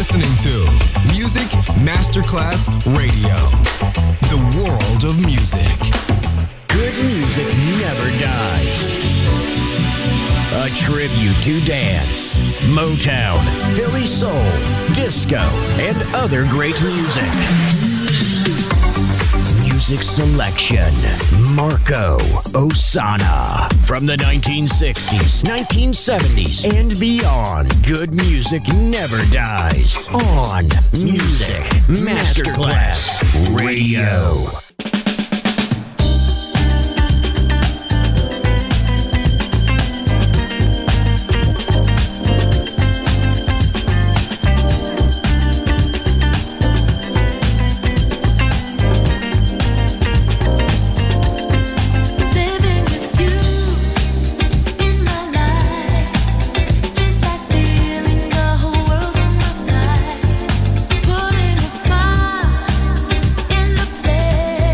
listening to Music Masterclass Radio, the world of music. Good music never dies. A tribute to dance, Motown, Philly soul, disco, and other great music. Music selection, Marco Ossanna. From the 1960s, 1970s, and beyond, good music never dies. On Music Masterclass Radio. Putting a smile in the place.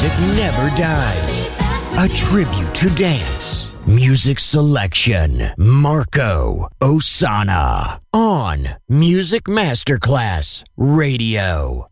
music never dies. A tribute to dance. Music selection. Marco Ossanna on Music Masterclass Radio.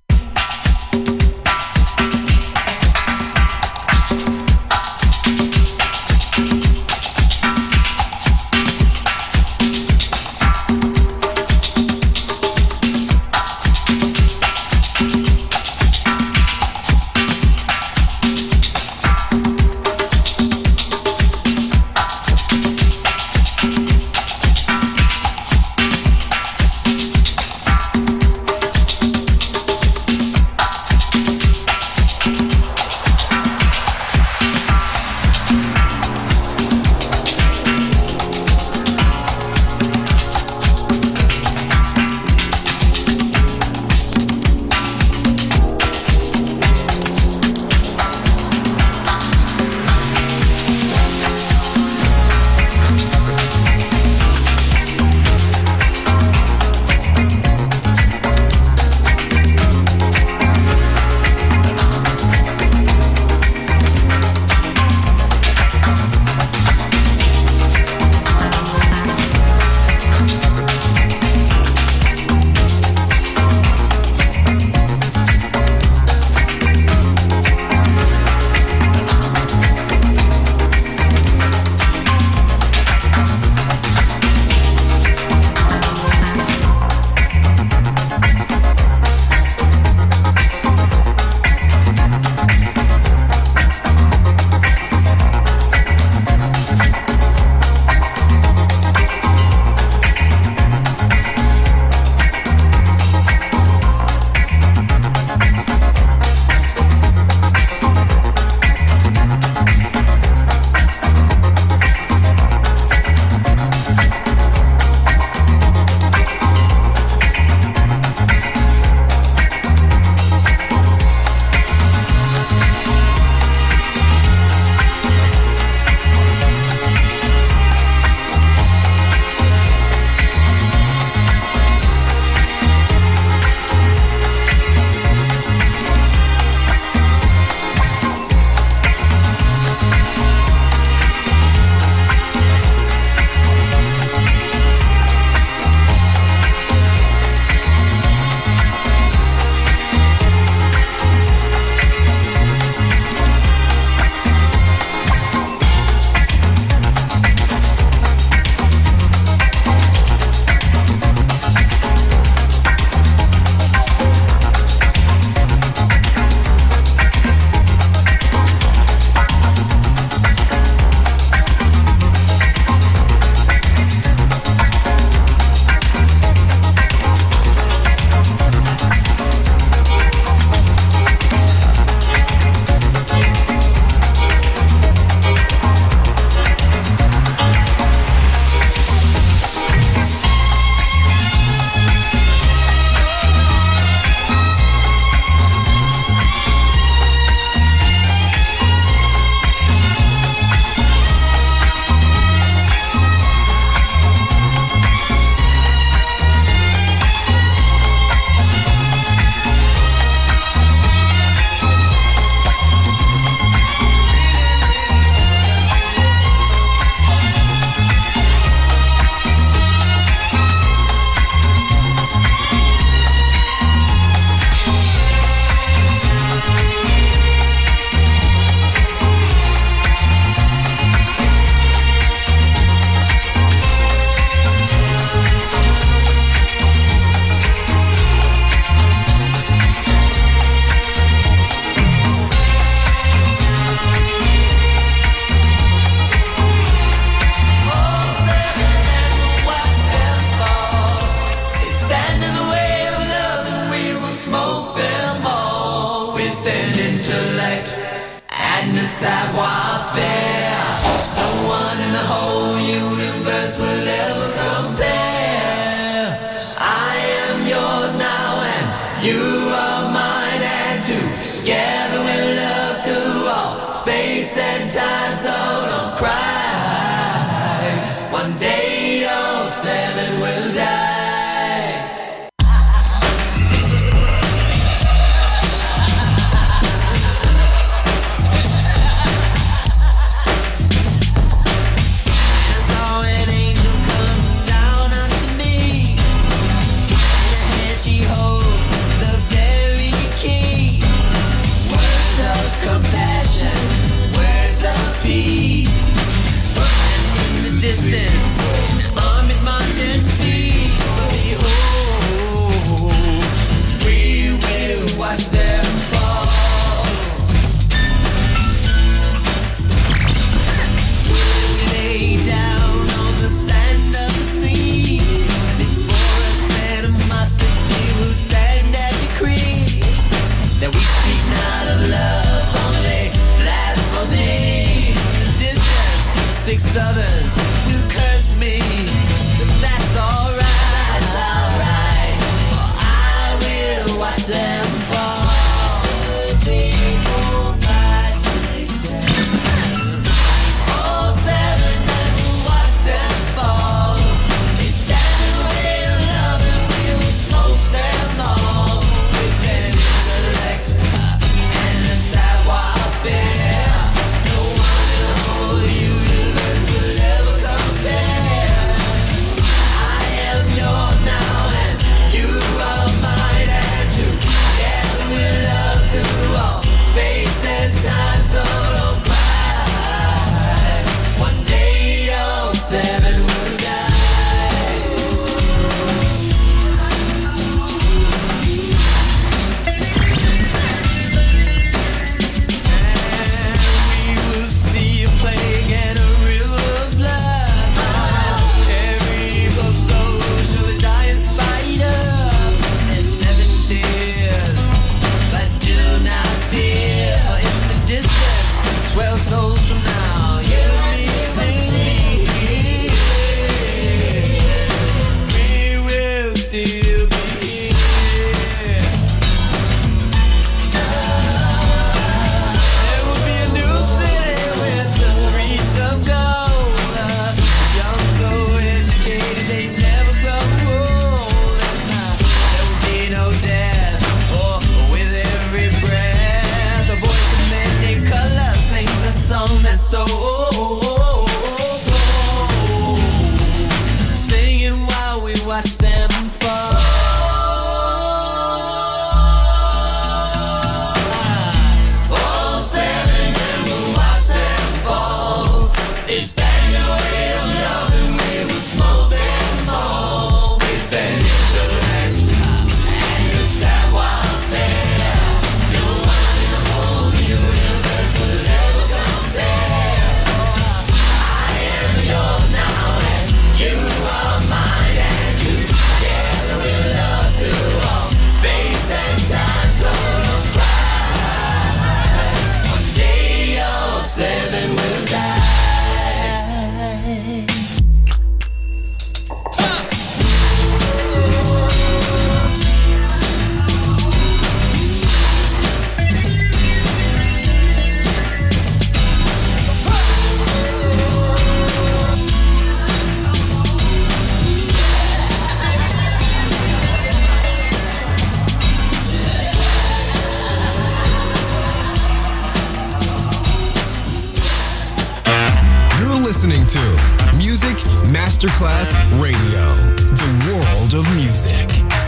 listening to Music Masterclass Radio, the world of music.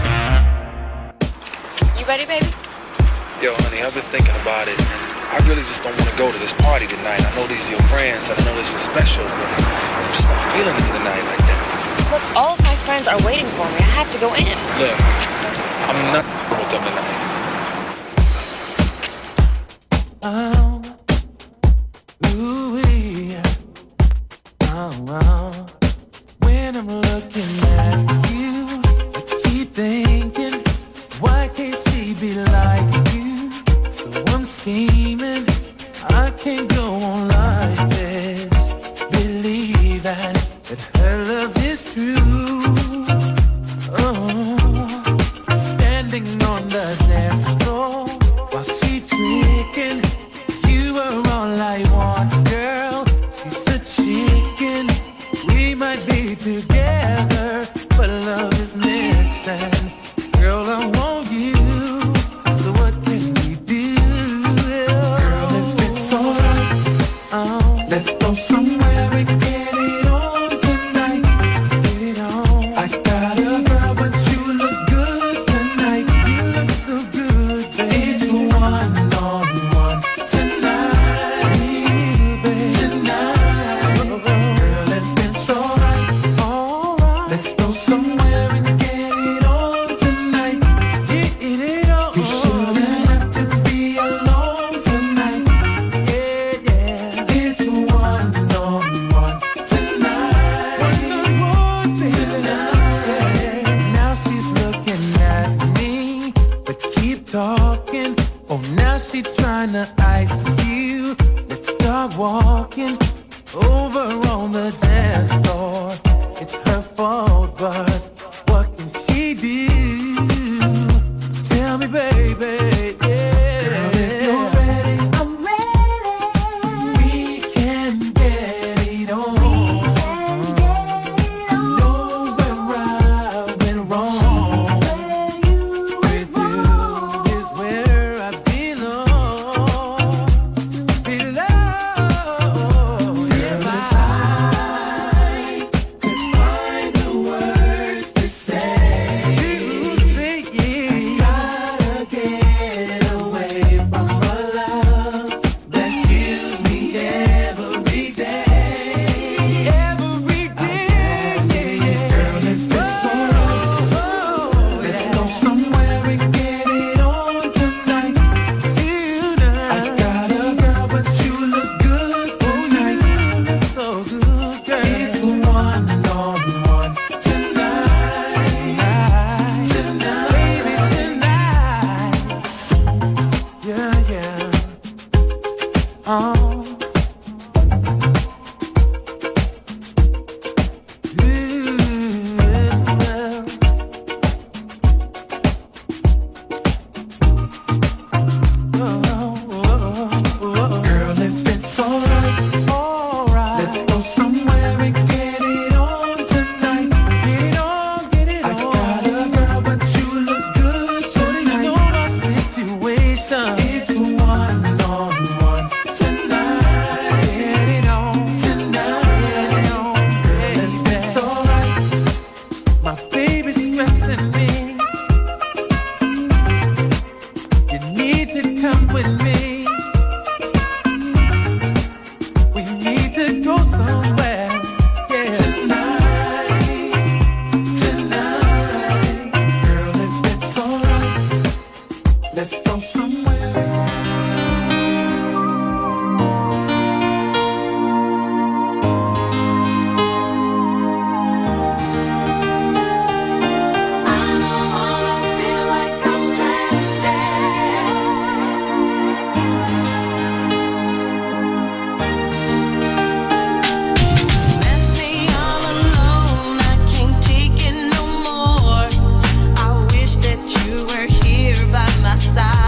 You ready, baby? Yo, honey, I've been thinking about it, and I really just don't want to go to this party tonight. I know these are your friends, and I know this is special, but I'm just not feeling it tonight like that. Look, all of my friends are waiting for me. I have to go in. Look, I'm not with them tonight. When I'm looking at you, I keep thinking, why can't she be like you? So I'm scheming, I can't go on like this. Believe that her love is true. Oh, standing on the dance floor while she tricking, you are all I want, girl. She's a chicken. We might be together, but love is missing. Girl, I want you, so what can we do? Girl, if it's alright, let's go somewhere and get it on tonight. Let's get it on. I got a girl, but you look good tonight. You look so good, baby. It's one-on-one tonight, baby. Tonight, girl, if it's alright, let's go somewhere and get it on tonight. Get it on. You shouldn't have to be alone tonight. Yeah, yeah. It's one-on-one tonight. One-on-one, baby. Tonight. Now she's looking at me, but keep talking. Oh, now she tryna ice you. Let's start walking over on the dance floor. It's her fault, but what can she do? Tell me, baby, yeah. Girl, if you're ready, I'm ready. We can get it on. I know where I went wrong. With you is where I belong. If I could find the words to say, you say it. I gotta get away from a love that kills me every day. Every day, yeah. Girl, if it's alright, let's go somewhere and get it on tonight. I got a girl, but you look good tonight. You look so good, girl. It's one-on-one tonight. Tonight, baby, tonight. Yeah, yeah. Oh. Girl, if it's alright, let's go somewhere and get it on tonight. Get it on, get it on. I got a girl, but you look good tonight. You know my situation. It's one-on-one tonight. Get it on tonight. Get it on, girl, if it's alright. My baby's stressing me. You need to come with me. We need to go somewhere, yeah. Tonight, tonight. Girl, if it's alright, let's go somewhere. I don't wanna feel like I'm stranded. Left me all alone, I can't take it no more. I wish that you were here by my side.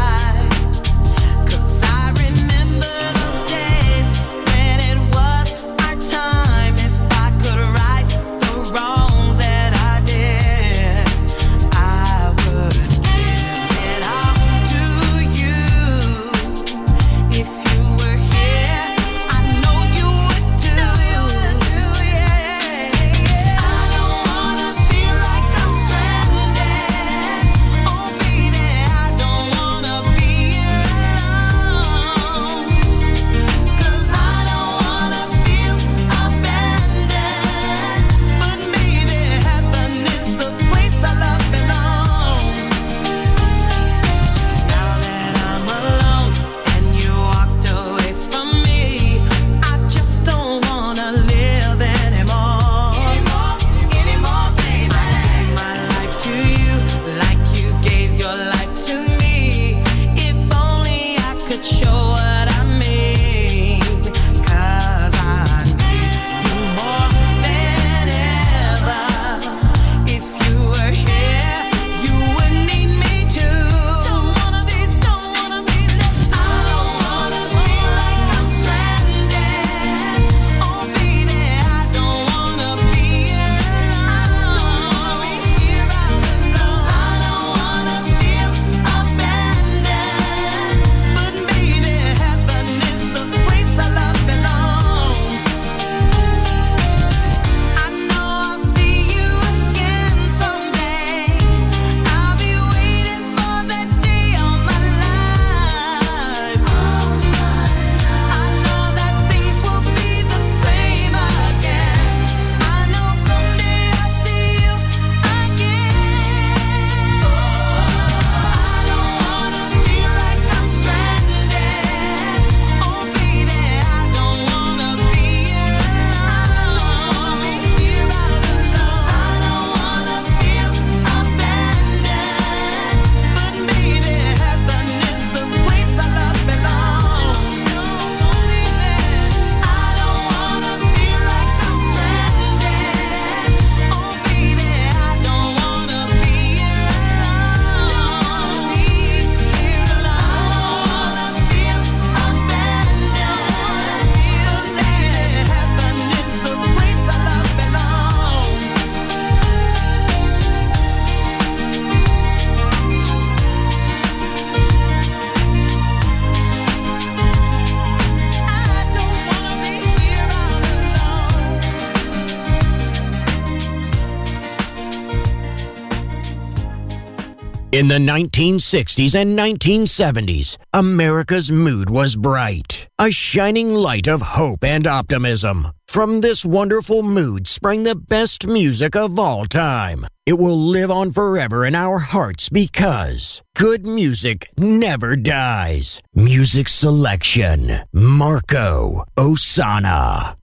In the 1960s and 1970s, America's mood was bright, a shining light of hope and optimism. From this wonderful mood sprang the best music of all time. It will live on forever in our hearts because good music never dies. Music selection, Marco Ossanna.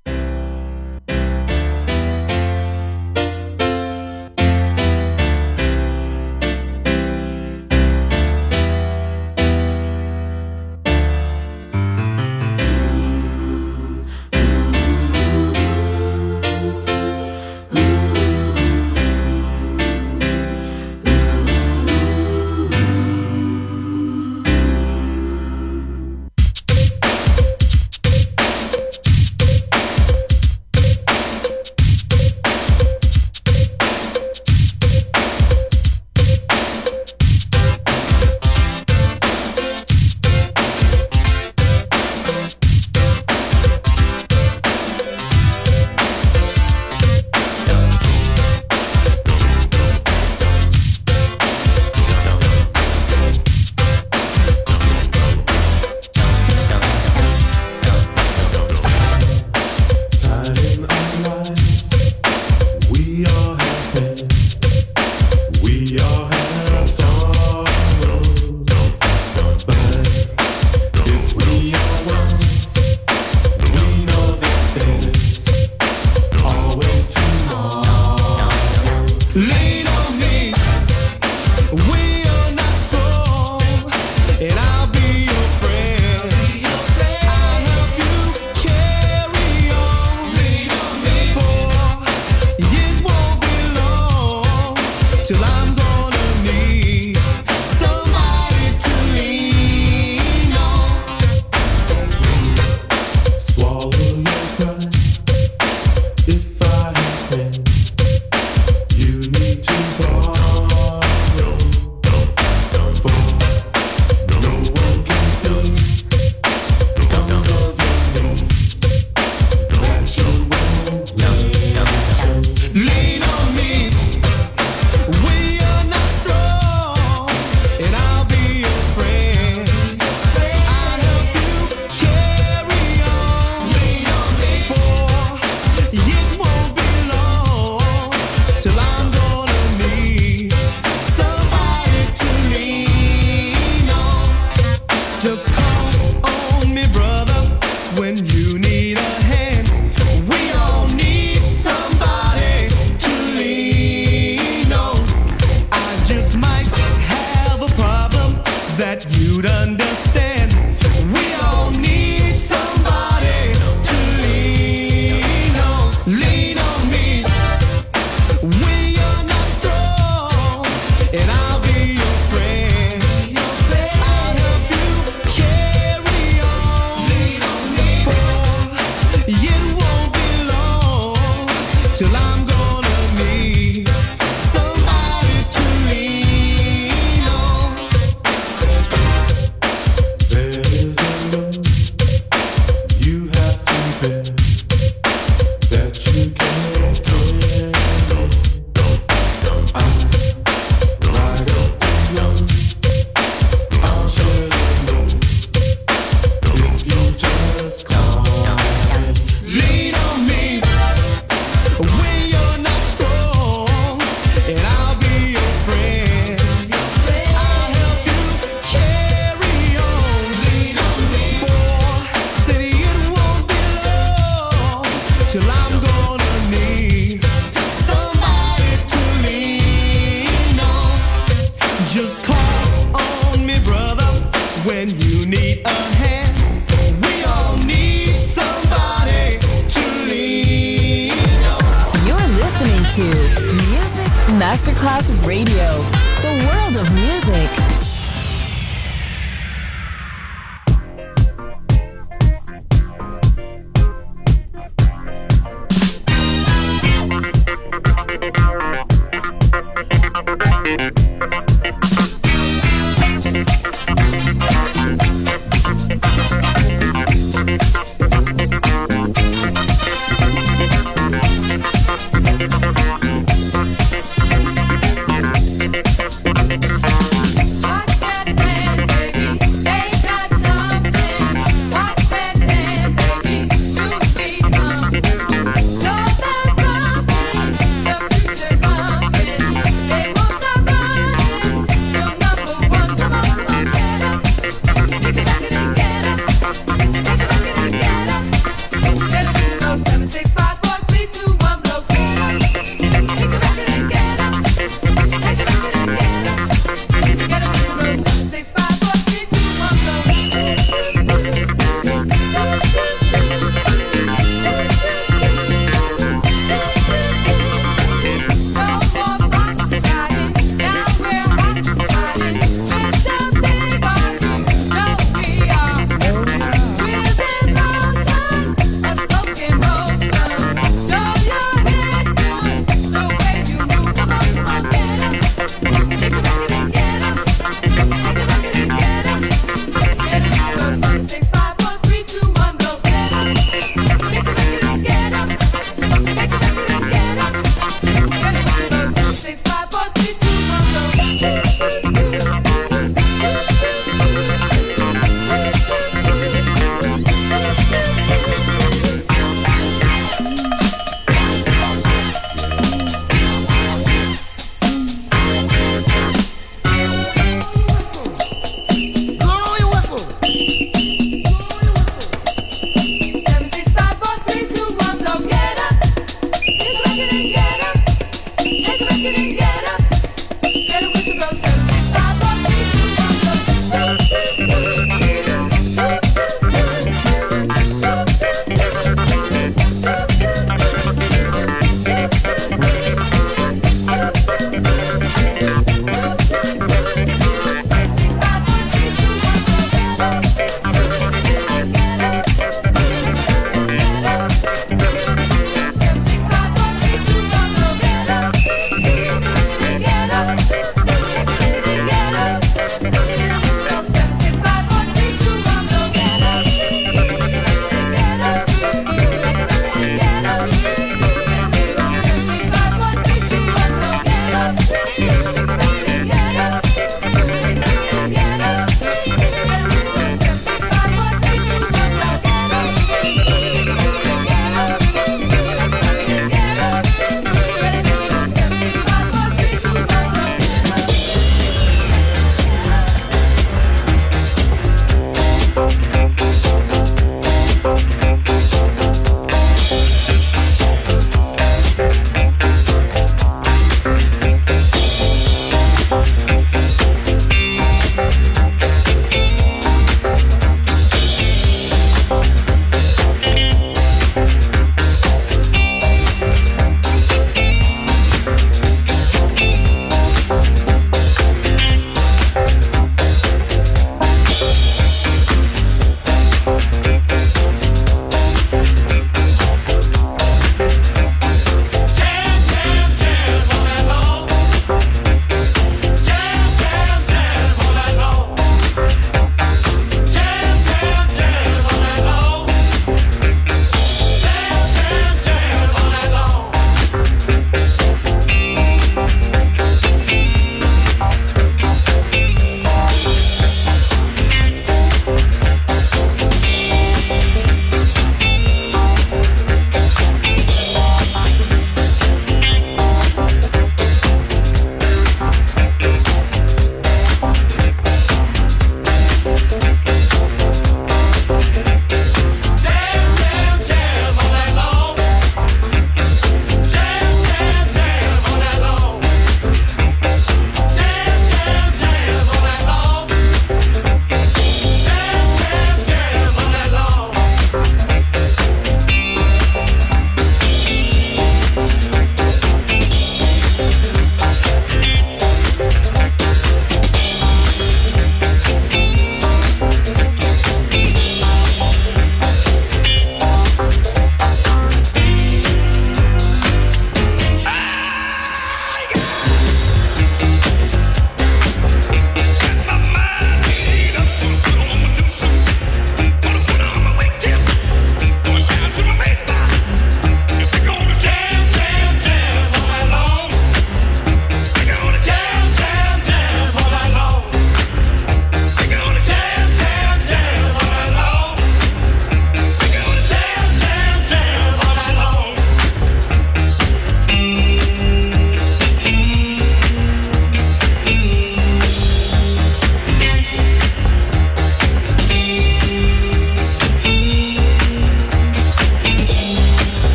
Masterclass Radio, the world of music.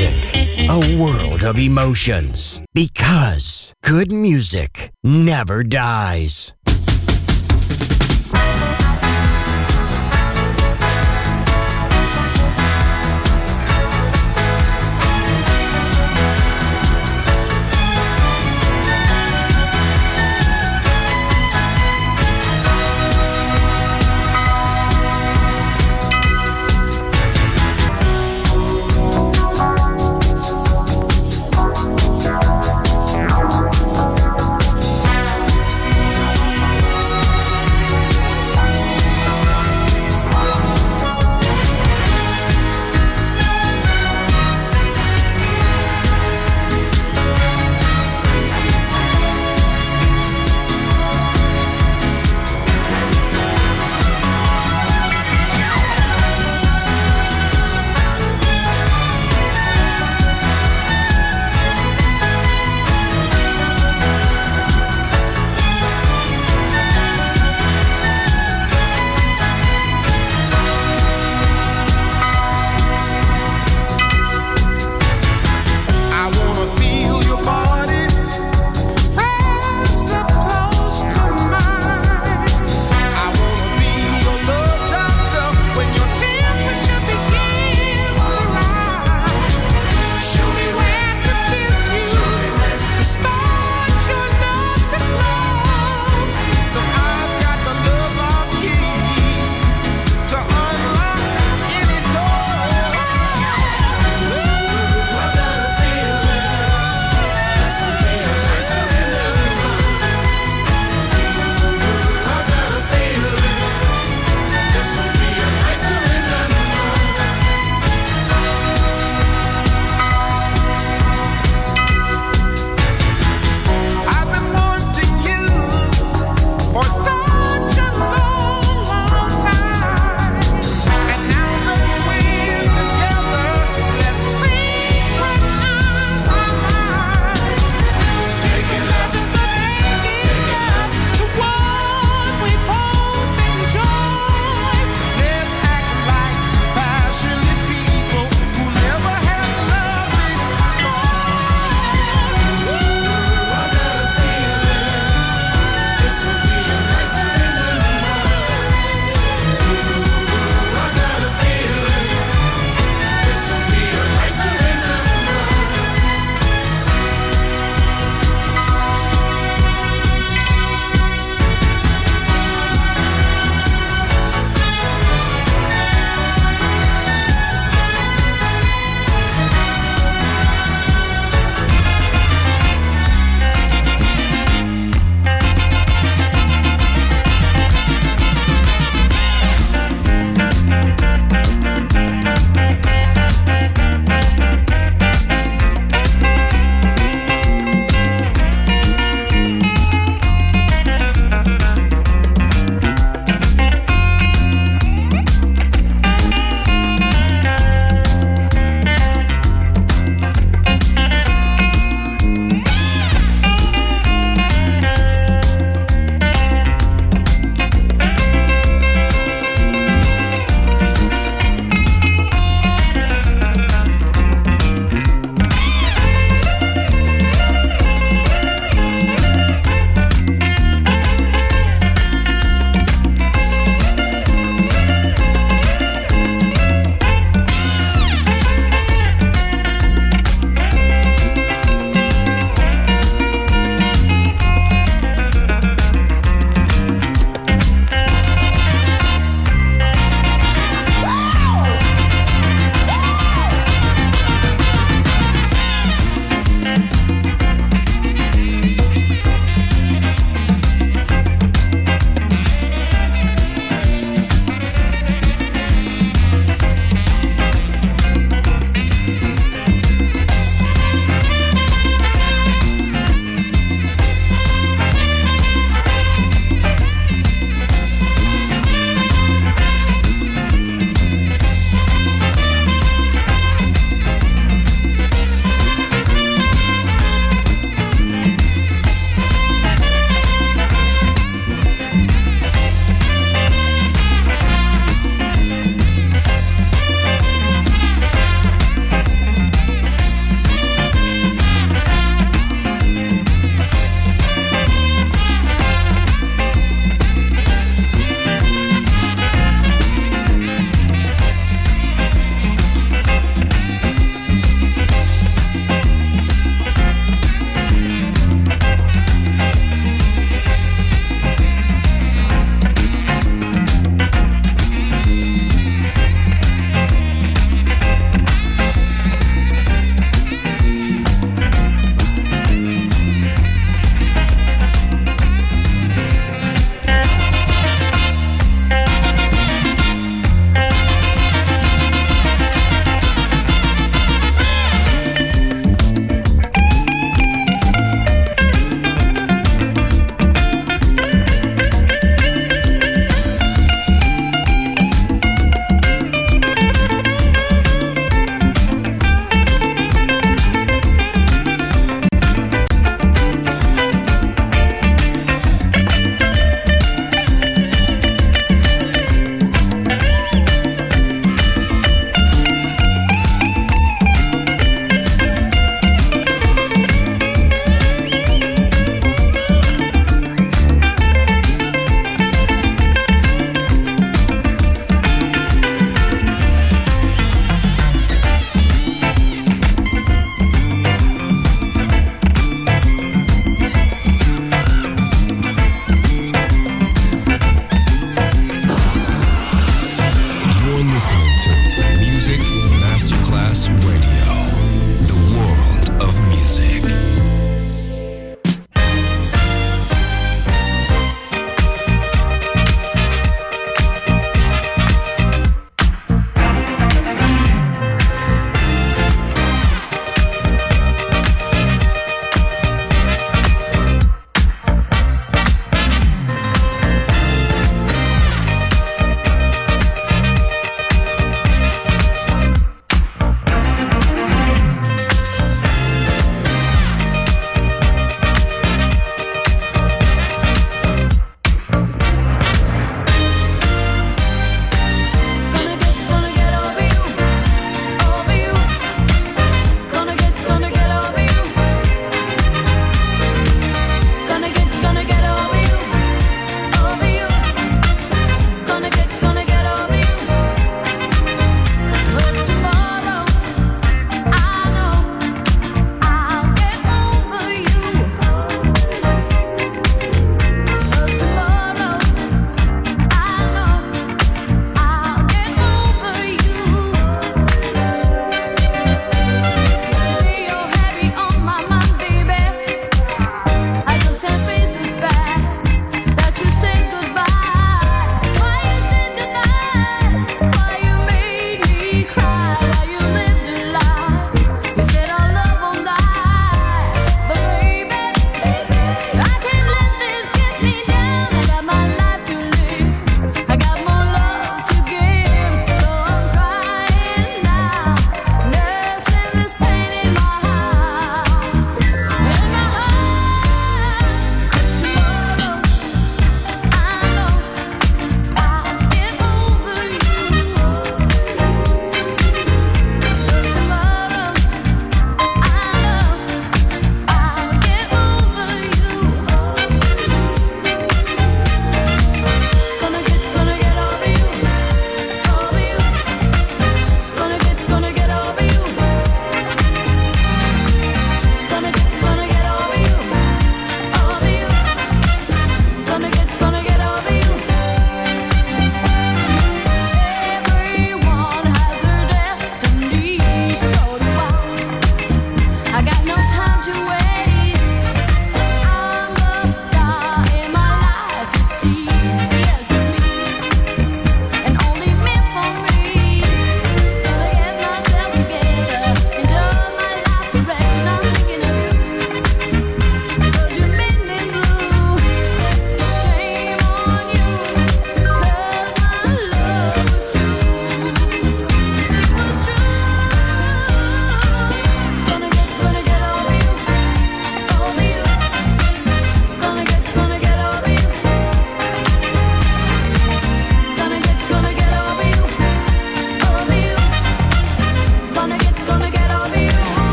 music, a world of emotions. Because good music never dies.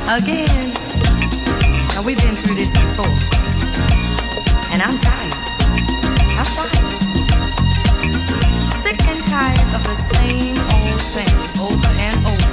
again. Now we've been through this before, and I'm tired. I'm tired. Sick and tired of the same old thing over and over.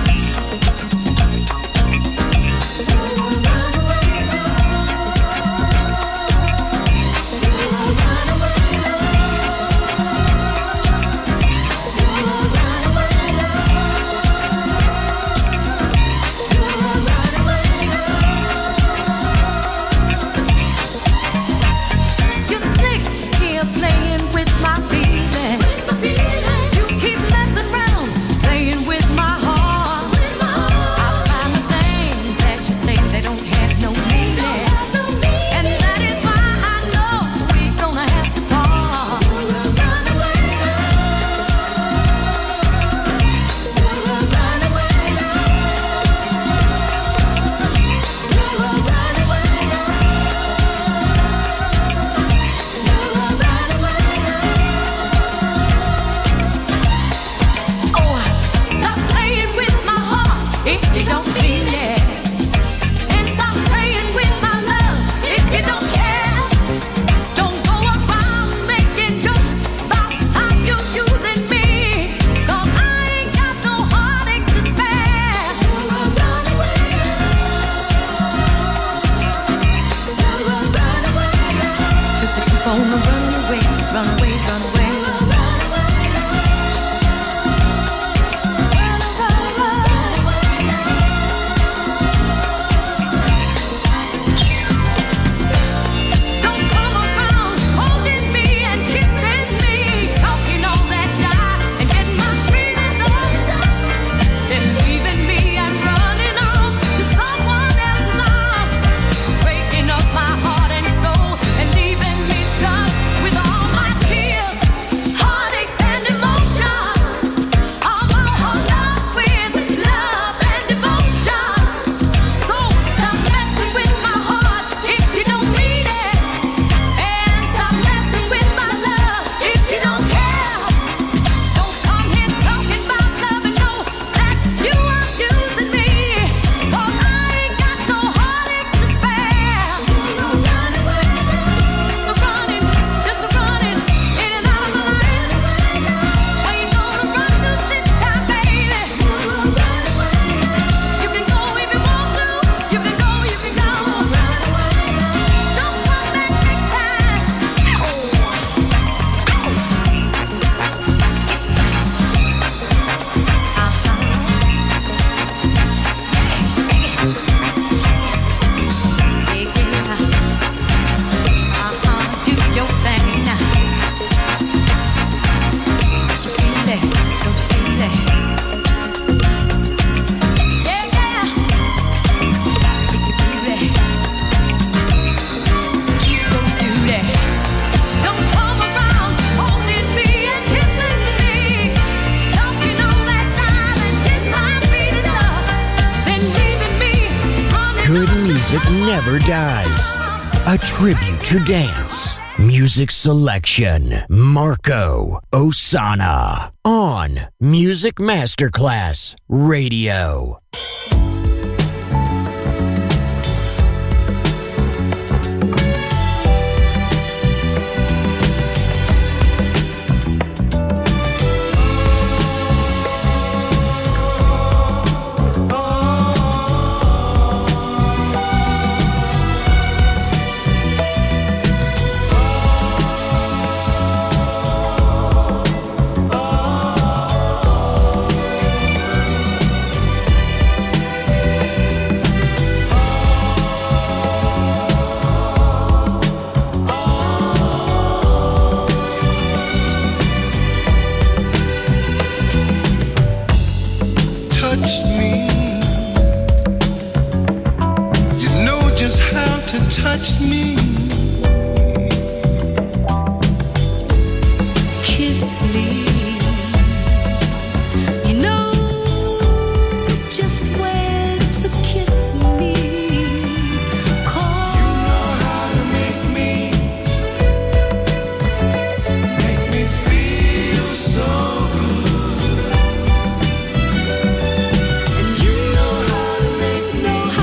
Never dies. A tribute to dance. Music selection. Marco Ossanna. On Music Masterclass Radio. Know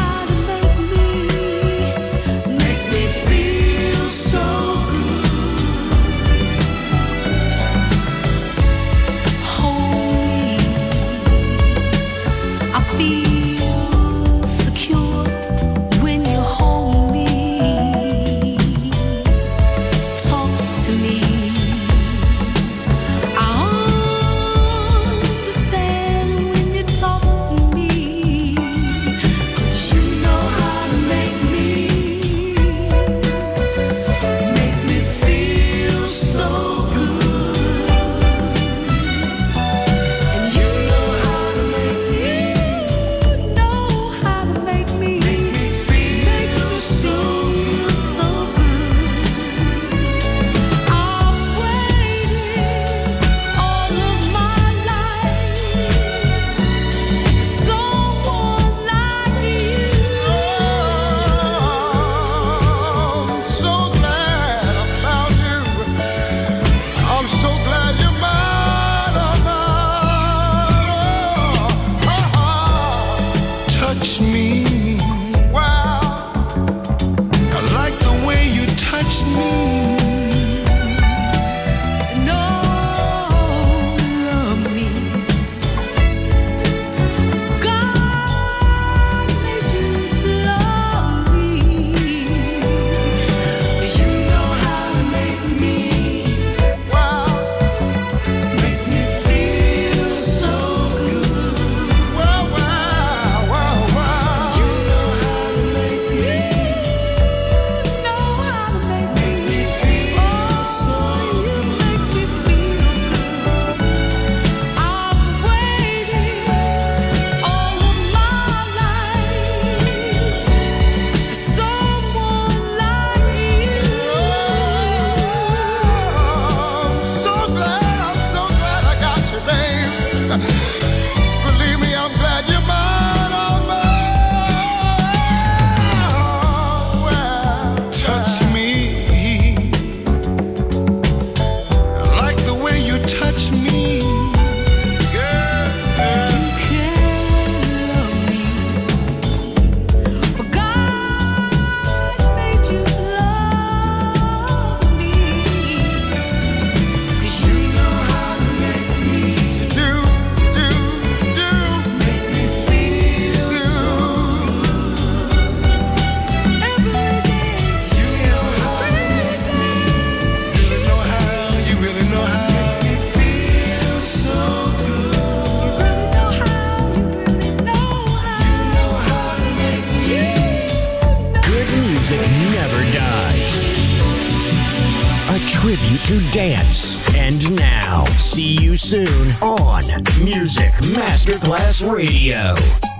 to dance. And now, see you soon on Music Masterclass Radio.